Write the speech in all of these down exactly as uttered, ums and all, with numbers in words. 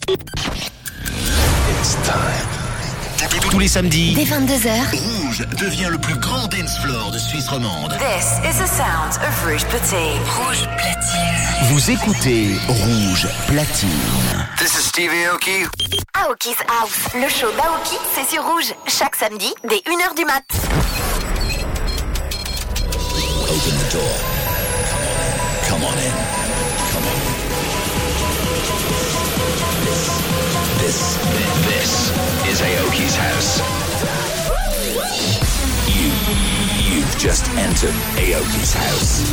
It's time. Tous les samedis, dès vingt-deux heures, Rouge devient le plus grand dance floor de Suisse romande. This is the sound of Rouge Platine. Rouge Platine. Vous écoutez Rouge Platine. This is Steve Aoki. Aoki's House. Le show d'Aoki, c'est sur Rouge. Chaque samedi, dès une heure du mat. Open the door. Come on in. Come on in. This, this, this is Aoki's house. You, you've just entered Aoki's house.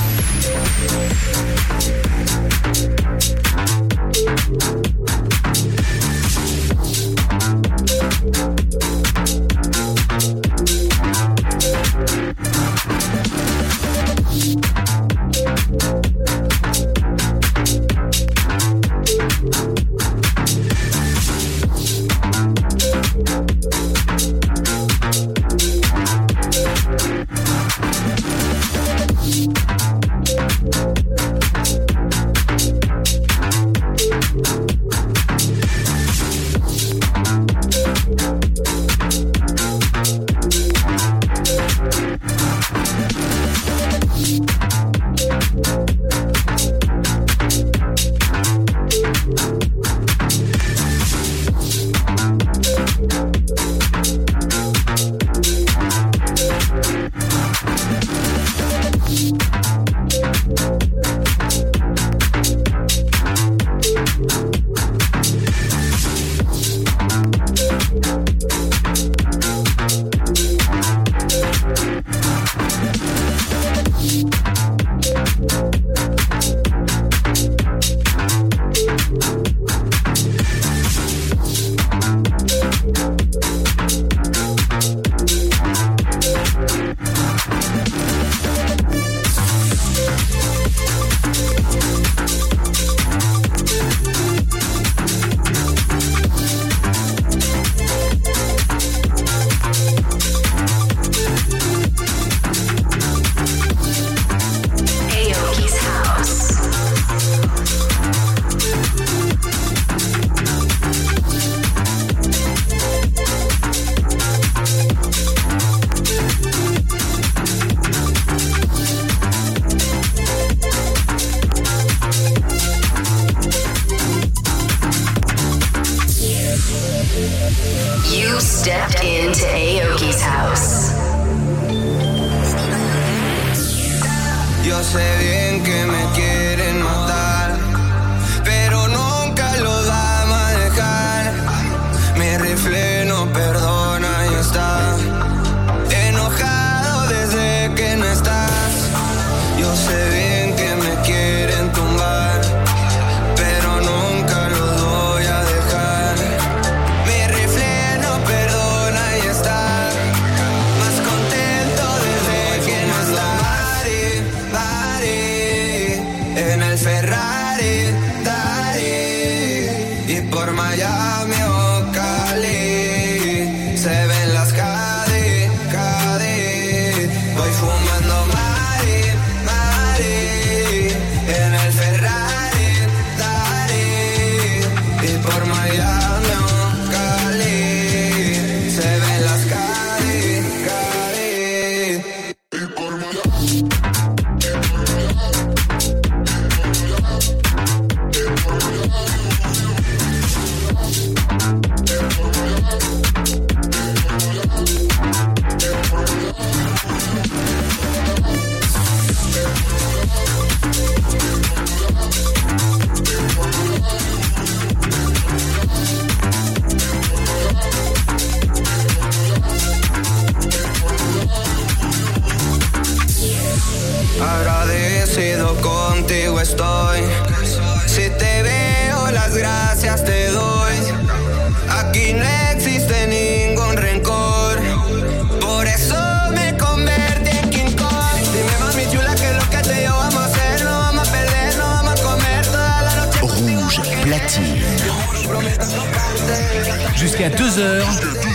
Jusqu'à deux heures,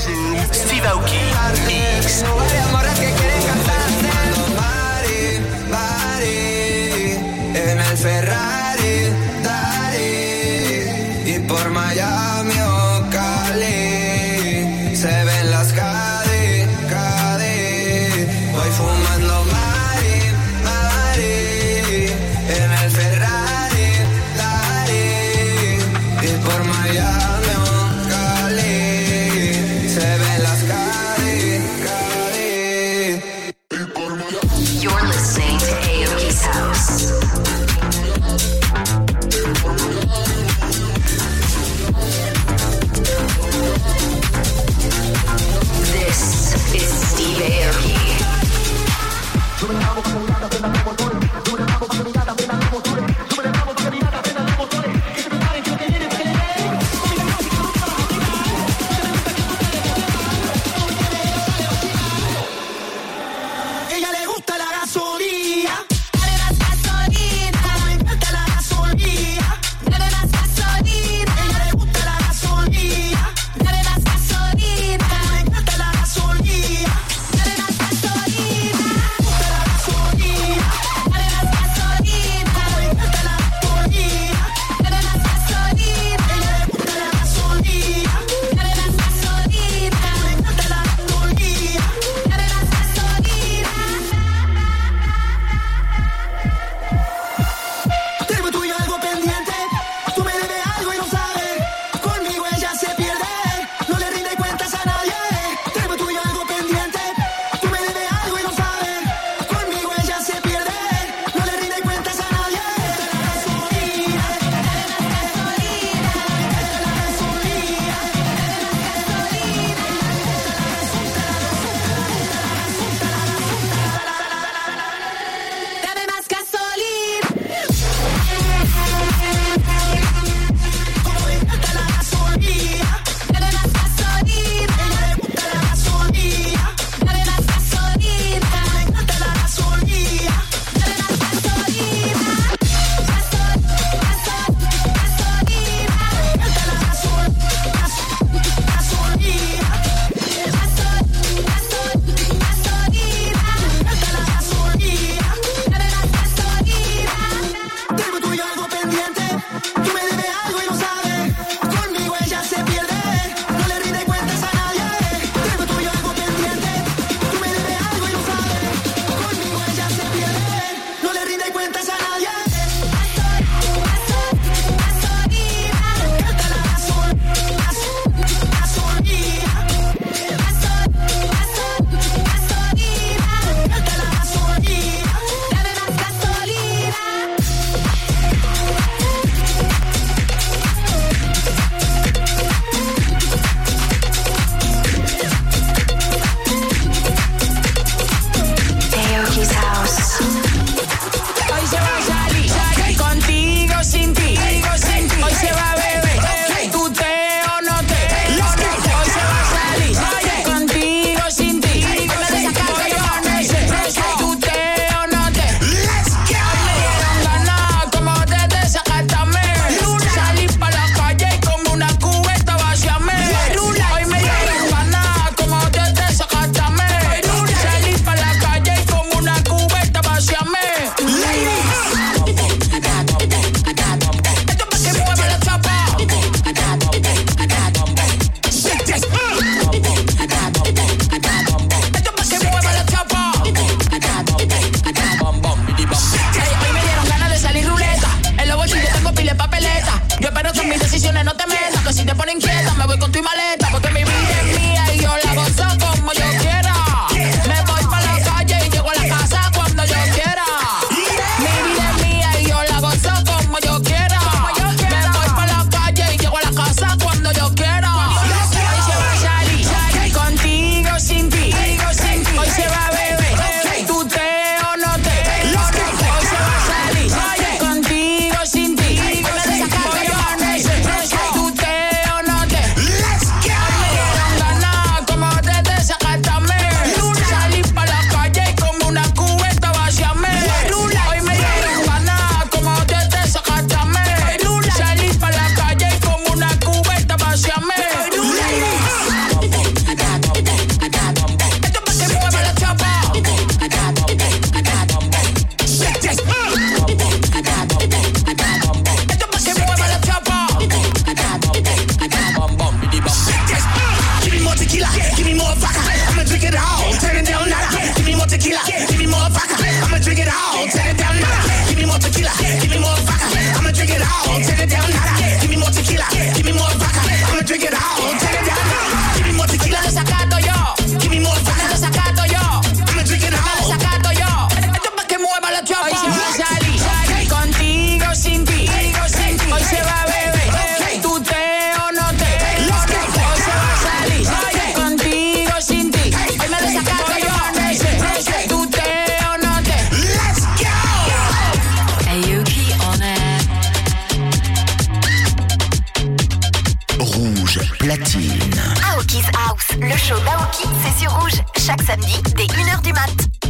Steve Aoki Mix. En el Ferrari, Dari, y por Miami o Cali, se ven las Cadi, Cadi. Voy fumando Mari, Mari, en el Ferrari, Dari. Y por Miami o Cali, se ven las Cadi, Cadi. Y por Miami. You're listening to Aoki's House. This is Steve Aoki. Ella le gusta la gasolina. Rouge Platine. Aoki's House, le show d'Aoki, c'est sur Rouge. Chaque samedi, dès une heure du mat'.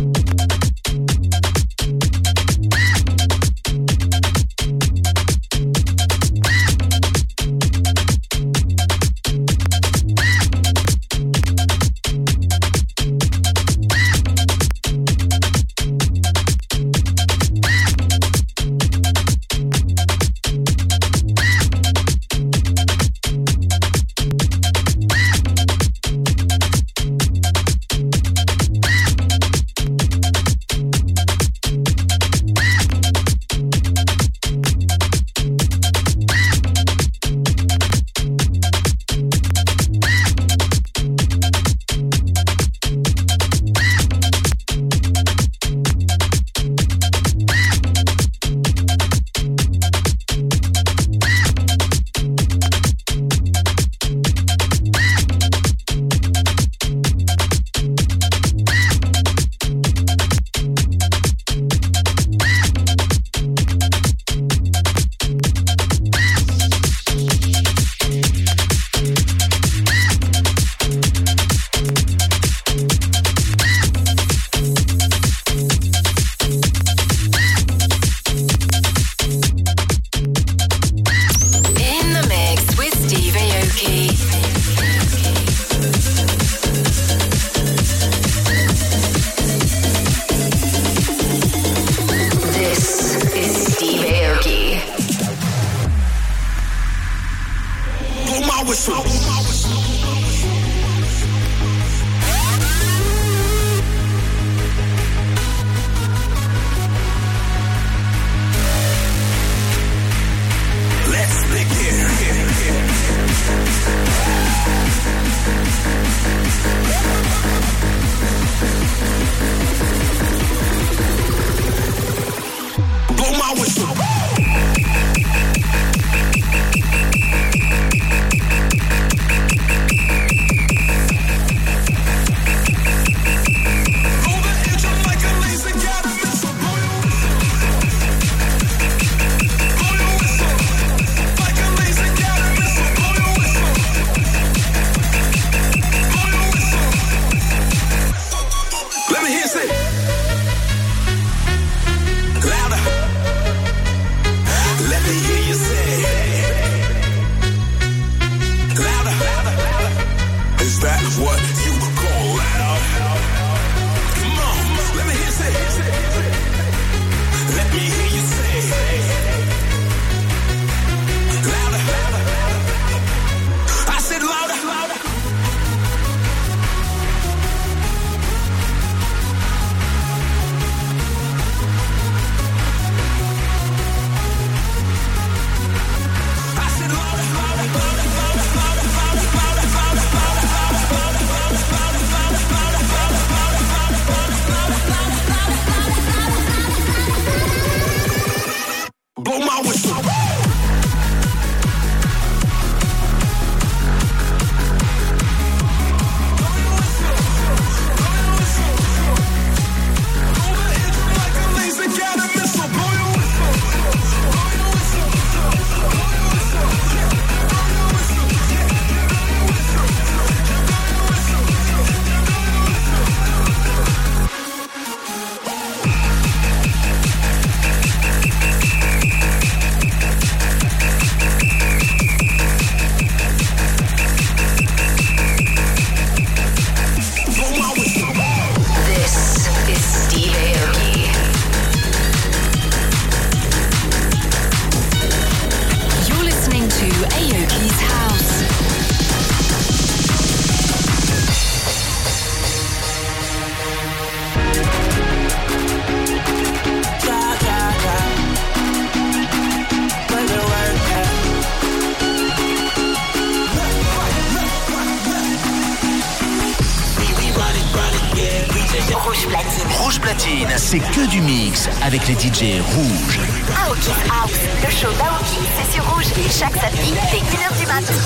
Rouge Platine, c'est que du mix avec les D J rouges. Aoki's House, le show d'Aoki, c'est sur Rouge. Chaque samedi, dès une heure du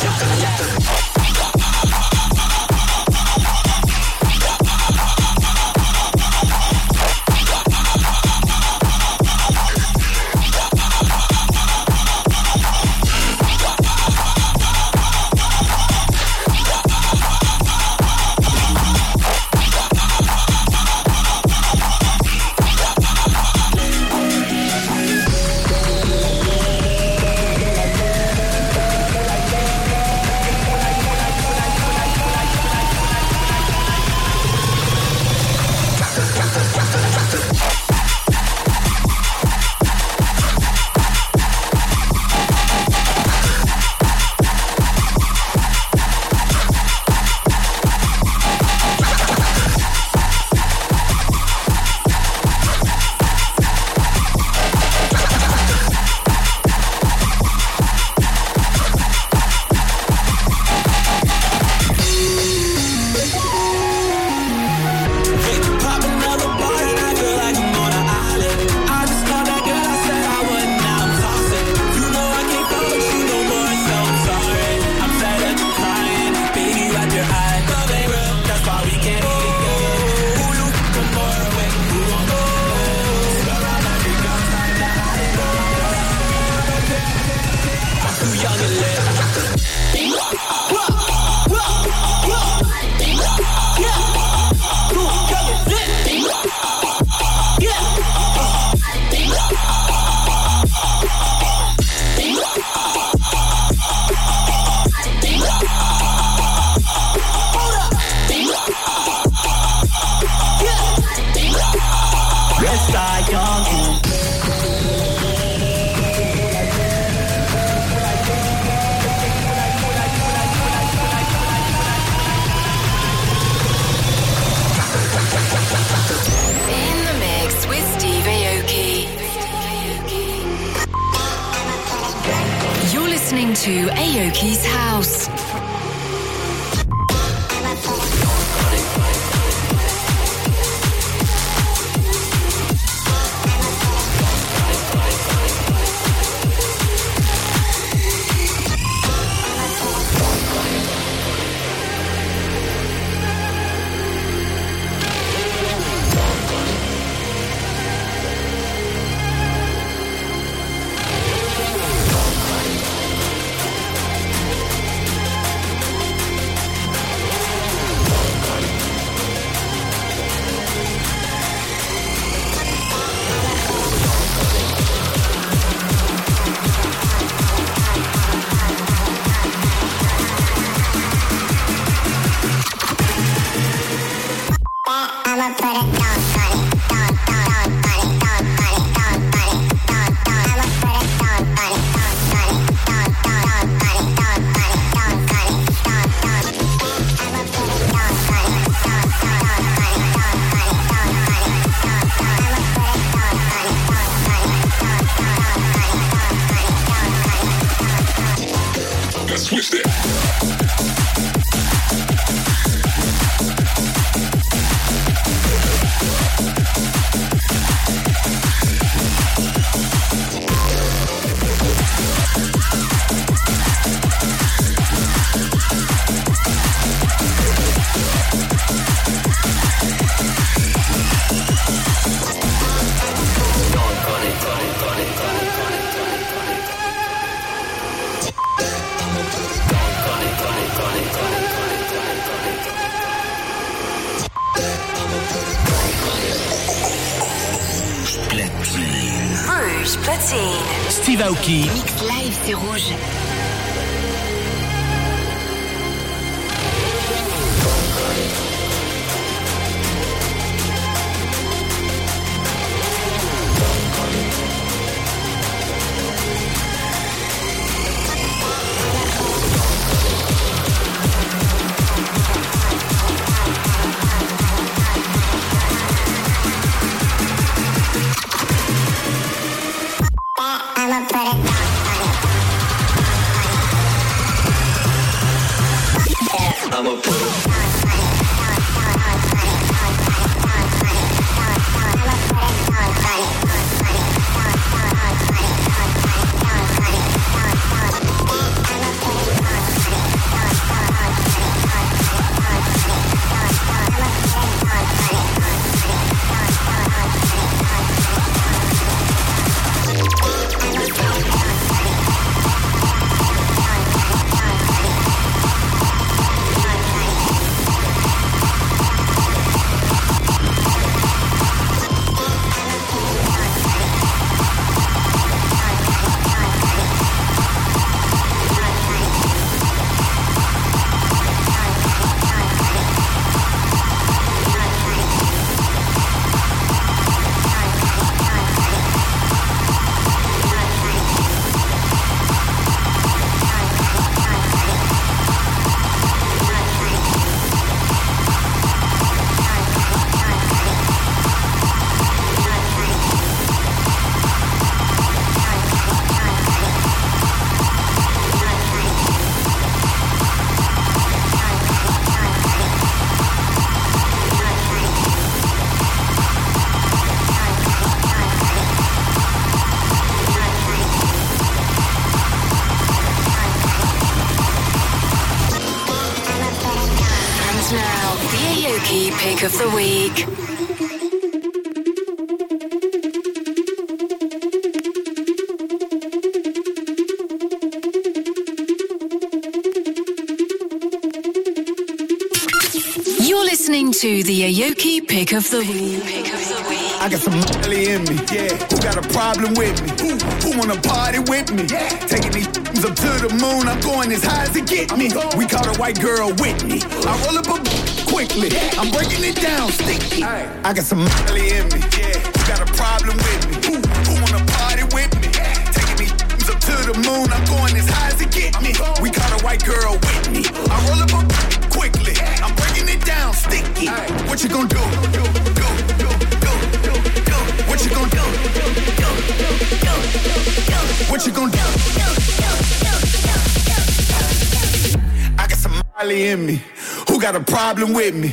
mat'. to Aoki's house. Rouge Platine. Steve Aoki. Mix live, c'est rouge. Pick of the week. You're listening to the Aoki Pick of the Week. Pick of the week. I got some money in me, yeah. Who got a problem with me? Who, who wanna party with me? Yeah. Taking these up to the moon, I'm going as high as it get me. We call a white girl Whitney. I roll up a quickly, I'm breaking it down, sticky. I got some money in me, yeah. Who got a problem with me? Who, who wanna party with me? Taking these up to the moon, I'm going as high as it get me. We call a white girl Whitney. I roll up a quickly, I'm breaking it down, sticky. What you gonna do? Do, do, do, do, do, do. What you gonna do? Do, do, do, do, do. What you gonna do? Do, do, do, do. Molly in me? Who got a problem with me?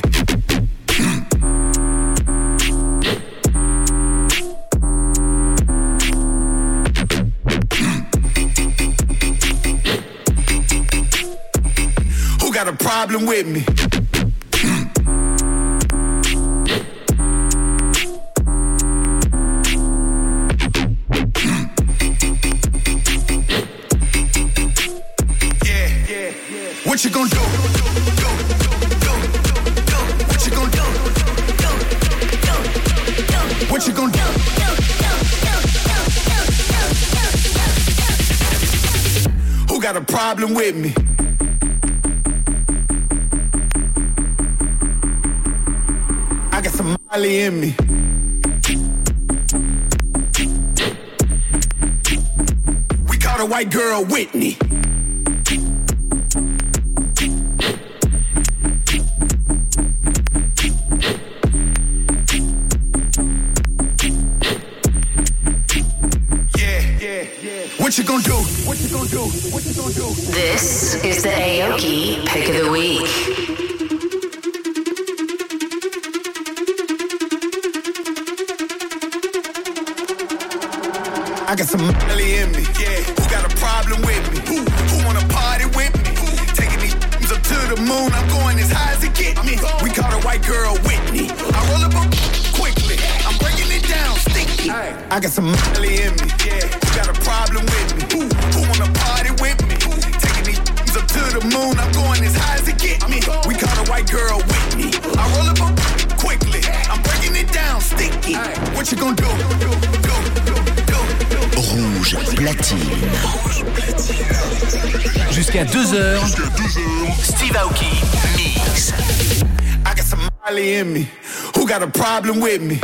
Who got a problem with me? What you gonna do? What you gonna do? What you gonna do? Who got a problem with me? I got some Molly in me. We caught a white girl, Whitney. What you gonna do? What you gonna do? What you gonna do? This is the Aoki Pick of the Week. I got some Molly in me, yeah. Who got a problem with me? Who, who wanna party with me? Who, taking these up to the moon, I'm going as high as it get me. We caught a white girl, Whitney. I roll up a quickly, I'm breaking it down, sticky. I got some Molly in me, yeah. Who got a problem with me? Who, who wanna party with me? Who, taking these up to the moon, I'm going as high as it get me. We caught a white girl, Whitney. I roll up a quickly, I'm breaking it down, sticky. What you gonna do? do, do, do, do. Rouge platine. Jusqu'à deux heures. Steve Aoki Mix. I got some Molly in me. Who got a problem with me?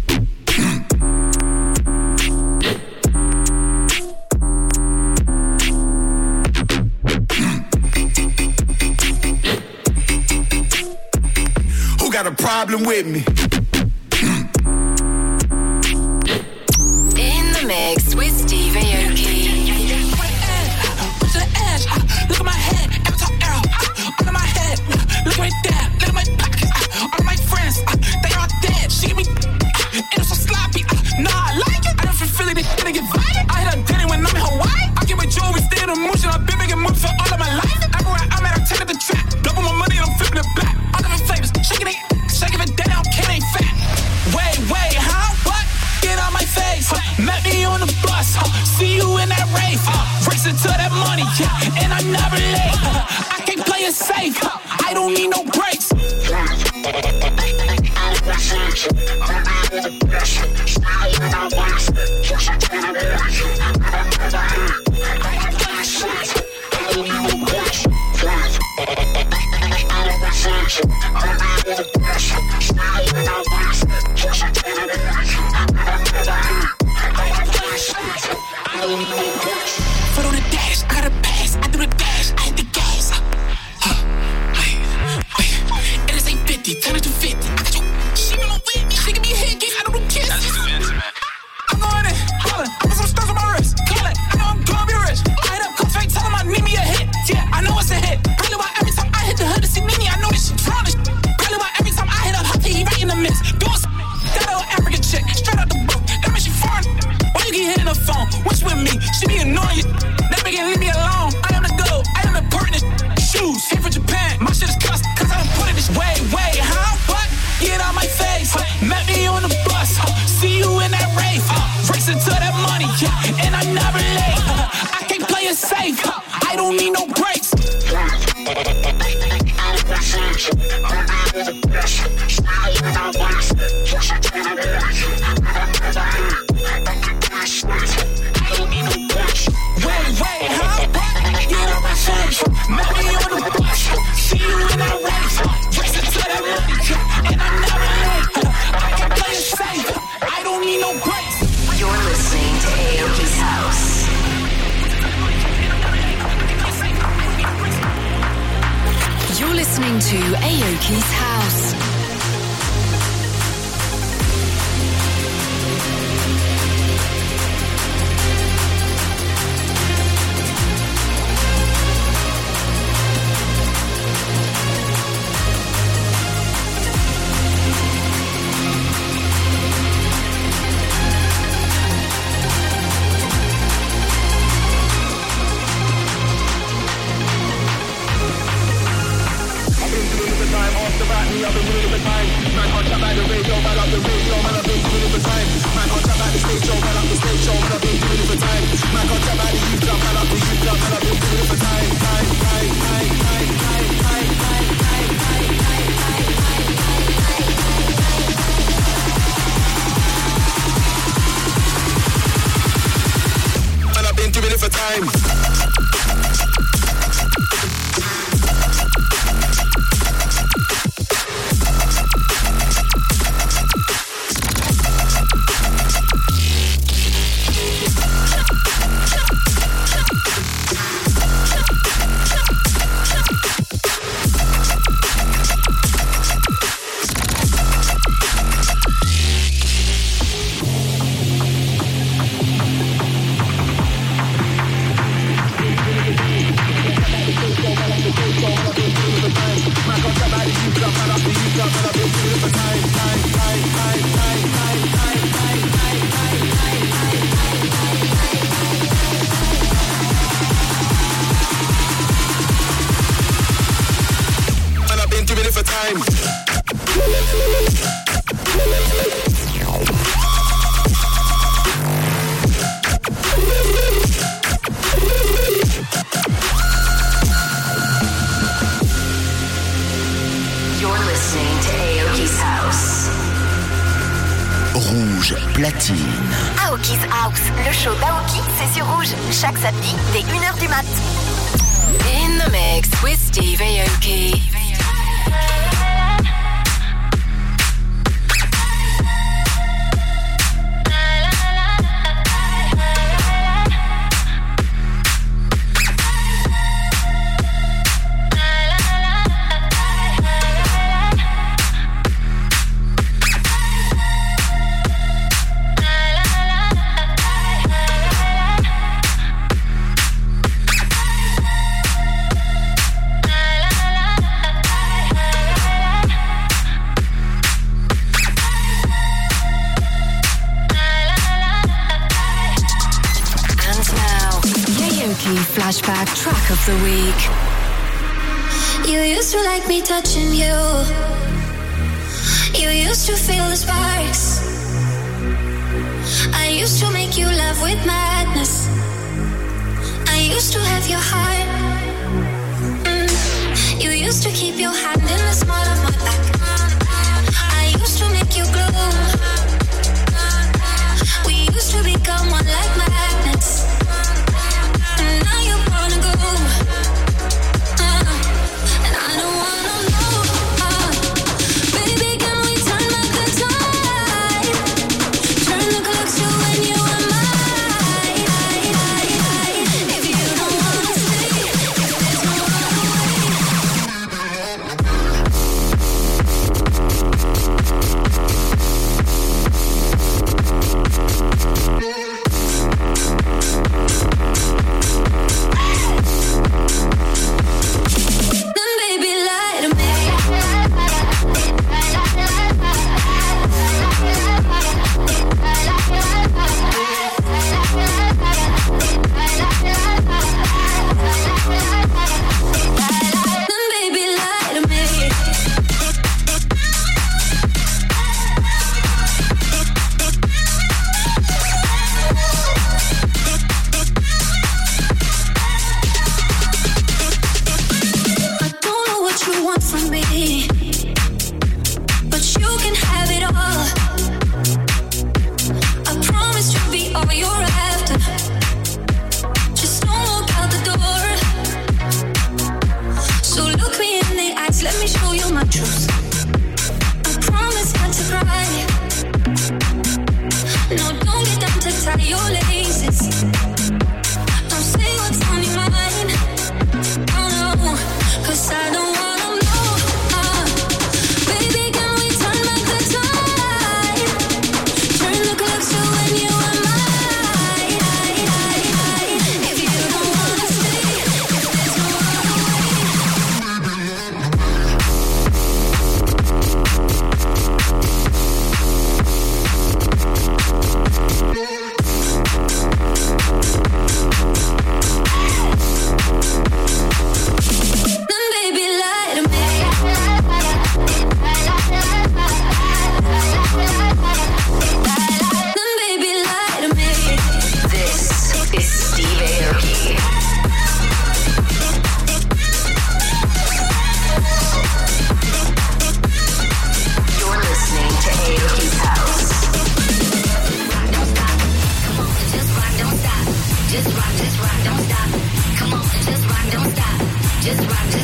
Who got a problem with me? Mix with Steve Aoki. Push the edge, look at my head, every top arrow, under my head, look right there, look at my pockets, all of my friends, they all dead, she give me, and it's so sloppy, nah, I like it, I don't feel Philly, they gonna get violent, I hit up Denny when I'm in Hawaii, I get my jewelry, stay in the motion, I've been making moves for all of my life, everywhere I'm at, I'm taking the trap, double my money and I'm flipping it back, all different flavors, shaking it, shaking it down, kid ain't fat, wait, wait, huh, what? Get out my face, uh, met me on the bus, uh, see you in that rave, uh, racing to that money, yeah, and I'm never late, uh, I can't play it safe, uh, I don't need no breaks. Foot on the dash, I got a pass, I do the dash, I hit the gas. Uh, wait, wait, it is eight fifty, turn it to fifty. I got you, she been with me, she give me a hit, I don't do kiss. That's too intimate. I'm going in, hollin', I put some stars on my wrist, call it, I know I'm gonna be rich. I hit up, come straight, tell them I need me a hit. Yeah, I know it's a hit. Probably why every time I hit the hood to see Nini, I know that she trying to. Probably why every time I hit up, Huffy, he right in the mix. Doing some, that old African chick, straight out the book, that means she foreign. Why you keep hitting the phone? What's with me? She be annoying you. That bitch can leave me alone. I am the goat. I am the important shoes. Came from Japan. My shit is cussed cause I done put it this way. Wait, huh? What? Get out my face. Uh, met me on the bus. Uh, see you in that rave. Uh, racing to that money. Yeah, and I'm never late. Uh, I can't play it safe. Uh, I don't need no breaks. Wait, wait, huh? Get on my face. Met me on the bus. See you in that race. Racing to that money. And I'm never late. I can play it safe. I don't need no breaks. You're listening to Aoki's House. You're listening to Aoki's House. Man can't chat by the radio, man up the radio, man I've been doing it for time. Man can't chat by the stage show, man up the stage show, man I've been doing it for time. Man can't chat by the youth club, man up the youth club, man I've been doing it for time. Time, time, time, time, time, time, time, time, time, time, time, time, time. Man I've been doing it for time. Aoki's House, le show d'Aoki, c'est sur Rouge, chaque samedi dès une heure du mat. In the mix with Steve Aoki. Flashback track of the week. You used to like me touching you. You used to feel the sparks. I used to make you love with madness. I used to have your heart. Mm. You used to keep your hand in the small of my back. I used to make you glow. We used to become one like magnets. Now you wanna go, uh, and I don't wanna know. Uh, baby, can we turn back the time? Turn the clock to when you were mine. If you don't wanna stay, if there's no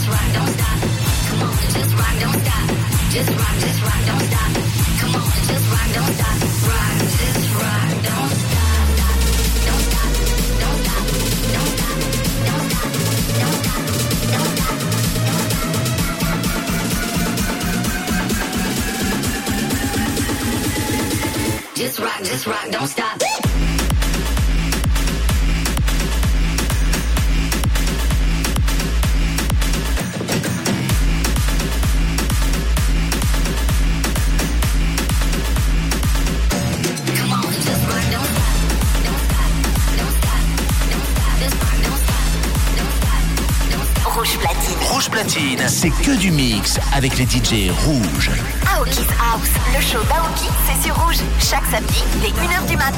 rock, don't stop. Come on, just rock, don't stop. Just rock, just rock, don't stop. Come on, just rock, don't stop. Rock, just rock, don't stop. Don't stop, don't stop, don't stop, don't stop, don't stop, don't stop. Just rock, just rock, don't stop. Rouge Platine. Rouge Platine, c'est que du mix avec les D J rouges. Aoki's House, le show d'Aoki, c'est sur Rouge. Chaque samedi, dès une heure du mat.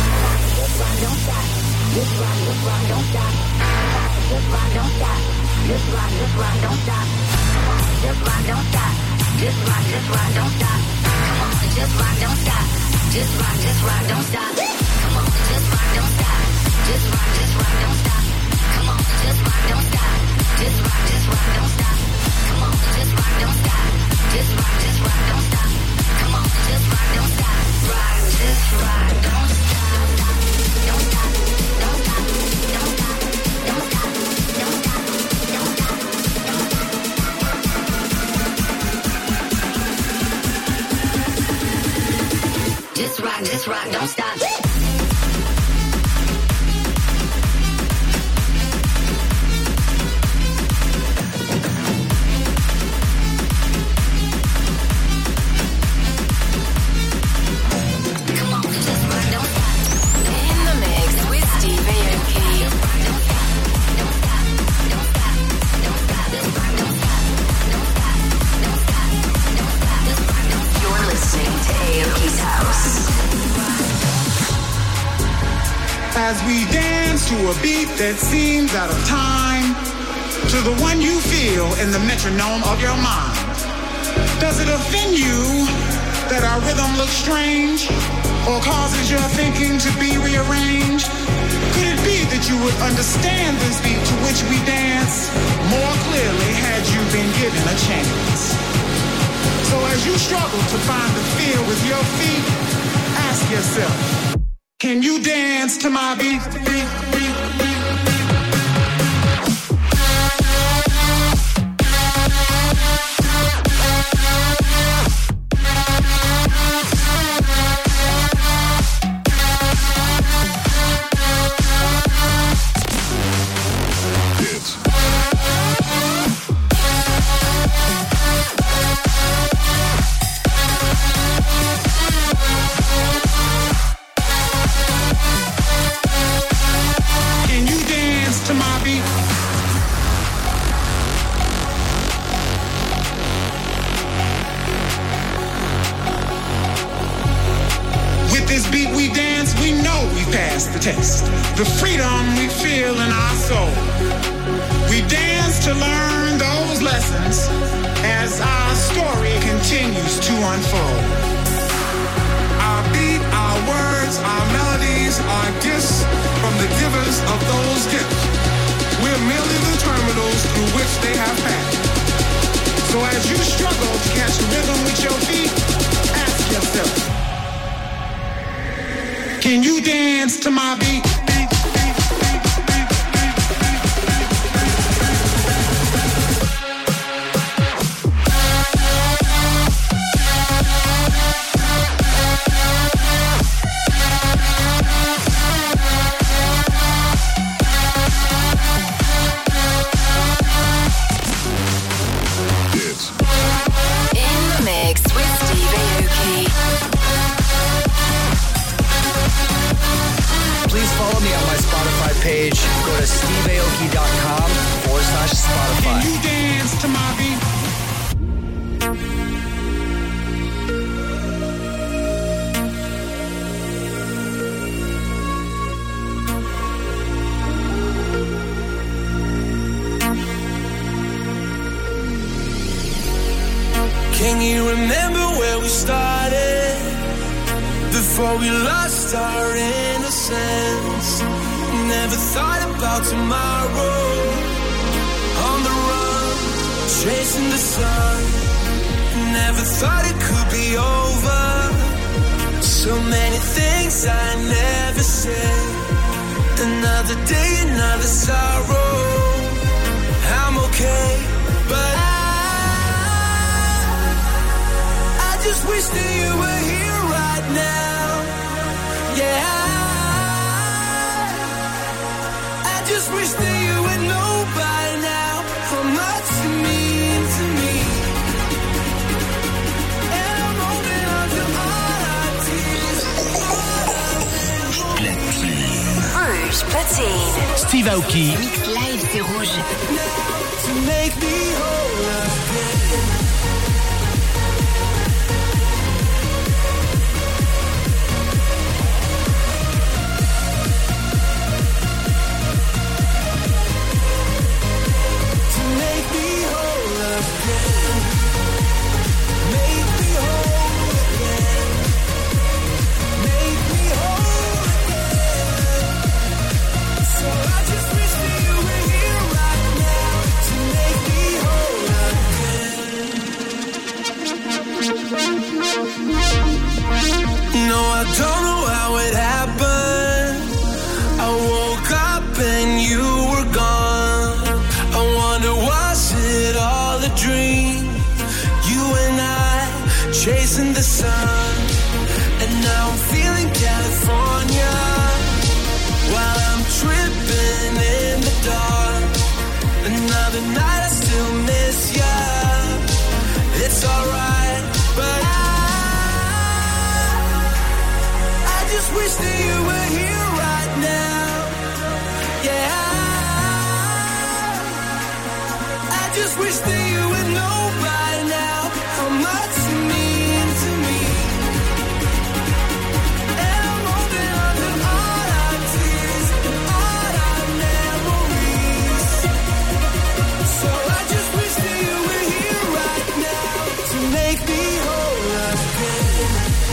Just rock, just rock, don't stop. Come on, just rock, don't stop. Just rock, just rock, don't stop. Come on, just rock, don't stop. Rock, just rock, don't stop. Don't stop, don't stop, don't stop, don't stop, don't stop, don't stop, don't stop. Just rock, just rock, don't stop. As we dance to a beat that seems out of time, to the one you feel in the metronome of your mind. Does it offend you that our rhythm looks strange, or causes your thinking to be rearranged? Could it be that you would understand this beat to which we dance more clearly had you been given a chance? So as you struggle to find the feel with your feet, ask yourself, can you dance to my beat, beat, beat, beat? Test the freedom we feel in our soul. We dance to learn those lessons as our story continues to unfold. Our beat, our words, our melodies are gifts from the givers of those gifts. We're merely the terminals through which they have passed. So as you struggle to catch the rhythm with your feet, ask yourself, can you dance to my beat? Beat, beat, beat, beat, beat, In the mix with Steve Aoki. Please follow me on my Spotify page. Go to steveaoki.com forward slash Spotify. Can you dance to my beat? Can you remember where we started? Before we lost our innocence, never thought about tomorrow. On the run, chasing the sun. Never thought it could be over. So many things I never said. Another day, another sorrow. I'm okay, but I, I just wish that you were here right now. Yeah, I, I just wish that you would know by now how much you mean to me. And I'm holding on to all our tears, all our Rouge Platine. Steve Aoki. Mix live, c'est Rouge. to make me whole again. To make me whole again. Make me whole again. Make me whole again. So I just wish that you were here right now to make me whole again. No, I don't know how it happened. I woke up and you were gone. I wonder, was it all a dream? You and I chasing the sun, and now I'm feeling California while I'm tripping in the dark. Another night I still miss ya. It's alright, but I, I just wish that you were here right now. Yeah, I just wish that you would know by now how much you mean to me. And I'm holding on to all our tears and all our memories. So I just wish that you were here right now to make me whole again.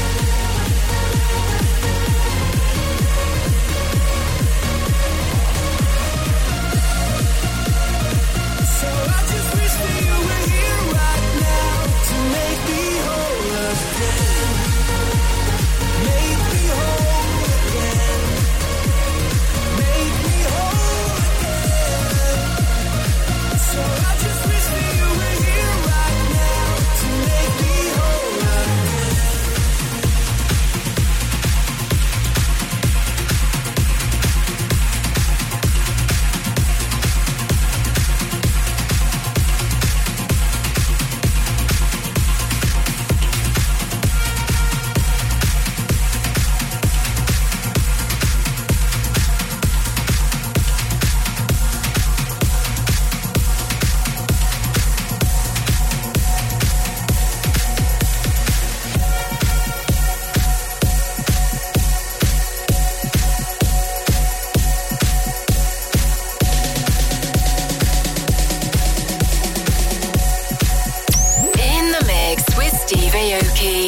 So I just wish that you were here right now to make me whole again. Make me whole again. Make me whole again. So I just wish that you were here right now to make me whole again. In the mix with Steve Aoki.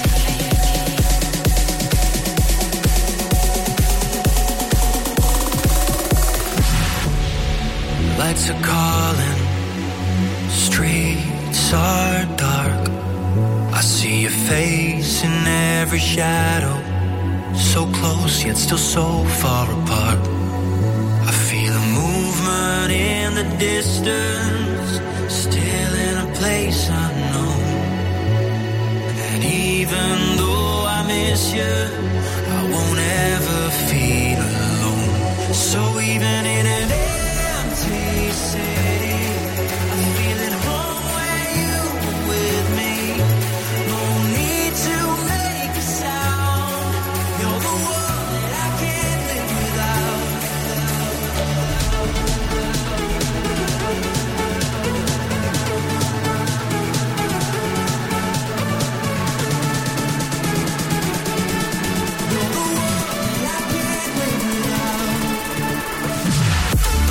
Lights are calling, streets are dark. I see your face in every shadow, so close yet still so far apart. I feel a movement in the distance, still in a place unknown. And even though I miss you, I won't ever feel alone. So even in an empty city, I feel at home when you are with me. No need to make a sound. You're the one that I can't live without. You're the one that I can't live without.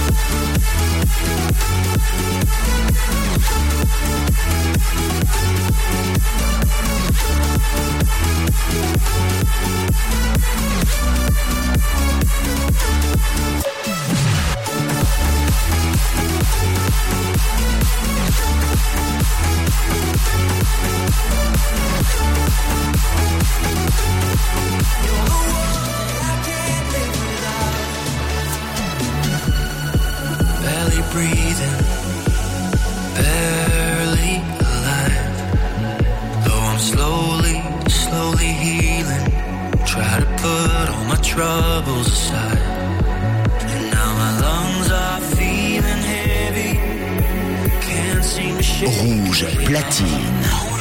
troubles aside. And now my lungs are feeling heavy. Can't seem to shake. Rouge platine.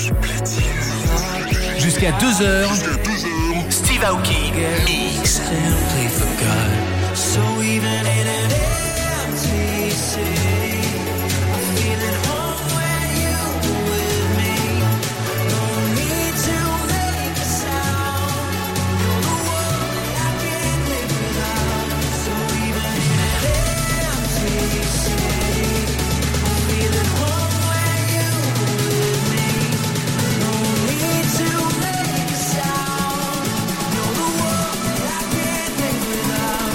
Jusqu'à deux heures. Steve Aoki Mix. Simply forgot. So even in an empty city, I'm feeling home when you're with me. No need to make a sound. You're the one that I can't live without. So even in an empty city, I'm feeling home when you're with me. No need to make a sound. You're the one that I can't live without.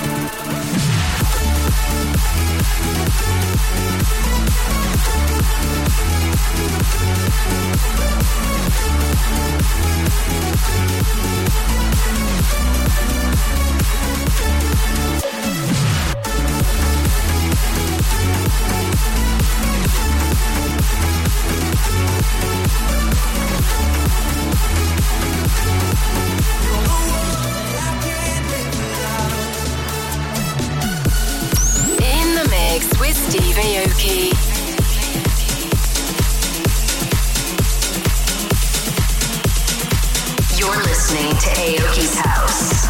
In the mix with Steve Aoki. You're listening to Aoki's House.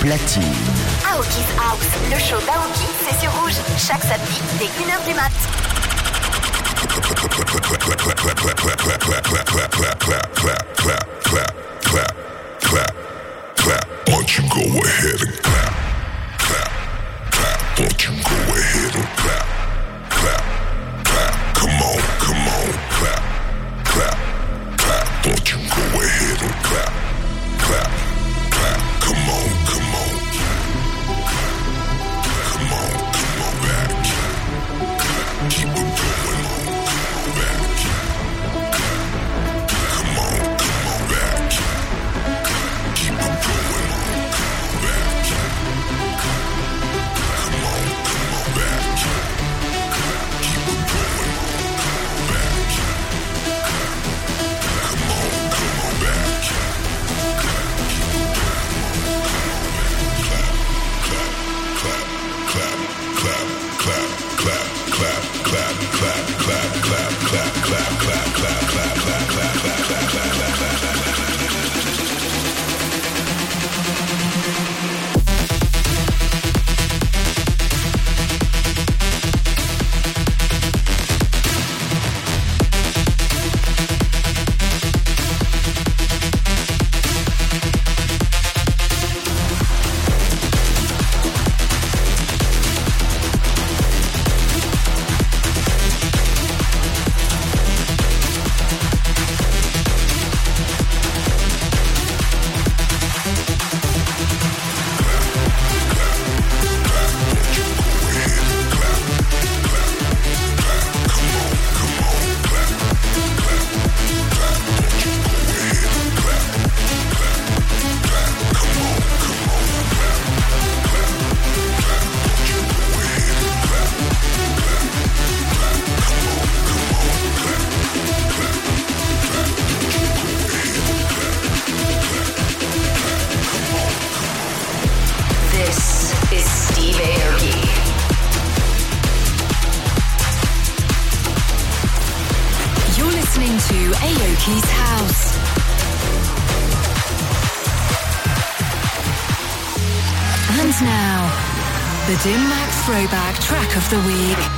platine. Aoki's House, le show d'Aoki, c'est sur Rouge. Chaque samedi, dès une heure du mat. Won't you go ahead and clap, clap, clap? Won't you go ahead and clap, clap, clap? Come on, come on, clap, clap, clap. Won't you go ahead and clap, clap, clap? Come on, come on, come on, come on back. Keep it going on, come on back. Come on, come on back. Keep it going on. The Dim Mak Throwback Track of the Week.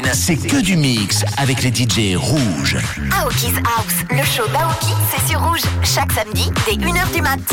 c'est que du mix avec les D J rouges. Aoki's House, le show d'Aoki, c'est sur Rouge, chaque samedi dès une heure du mat.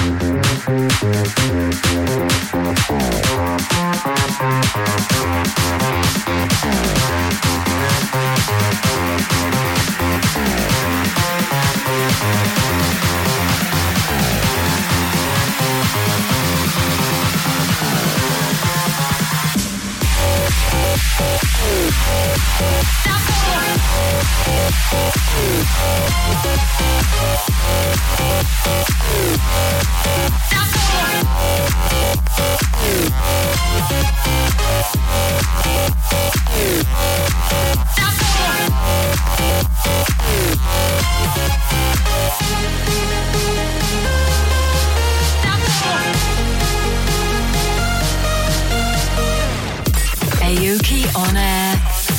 Aoki on air.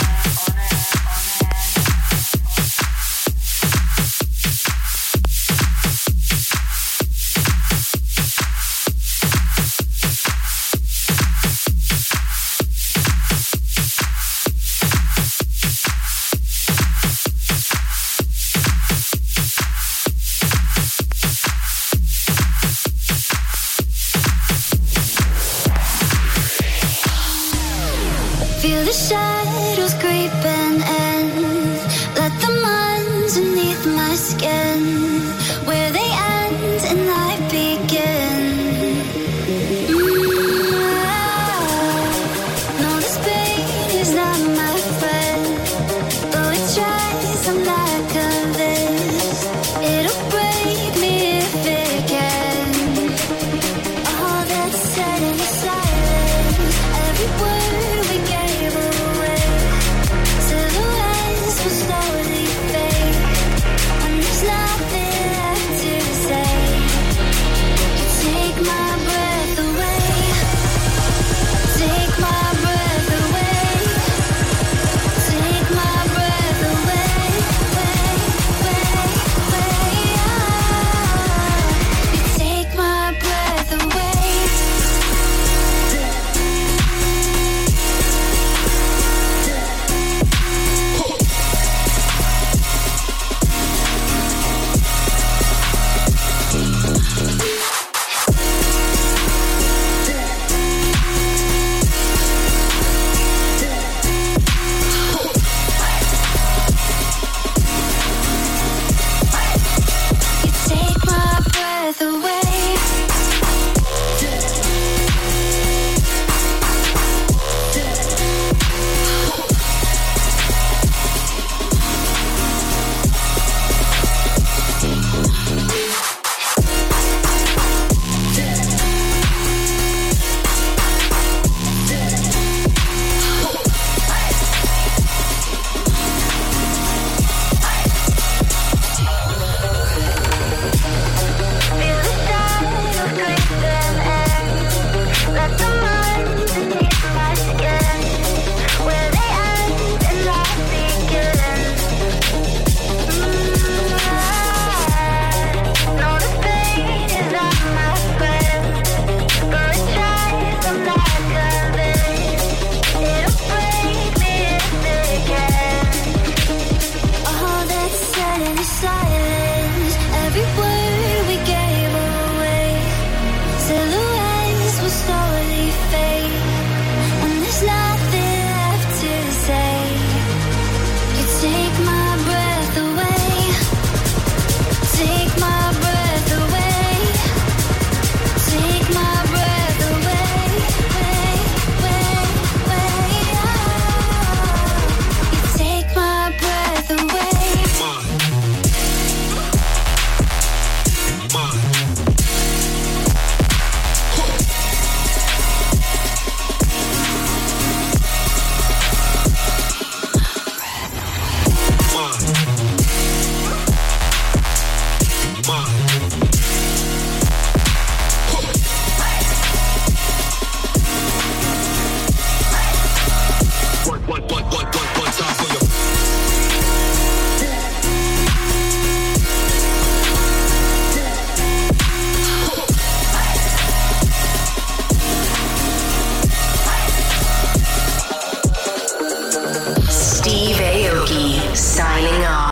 Feel the shadows creeping in. Let them underneath my skin. Where they end and I begin. Mm, no, this pain is not my friend. Though it tries, I'm like a this. It'll break me if it can. All that's said in silence. Every word we gave away. Silhouettes will slowly fade. And there's nothing left to say. You take my breath away. Take my breath away. Take my breath away. Way, way, way. Ah. You take my breath away. You take my breath away. Feel the shadows creeping in. Let them underneath my skin. Where they end and I begin. Mm, no, this pain is not my friend. Though it tries, I'm like a this. It'll break me if it can. All that's said in silence.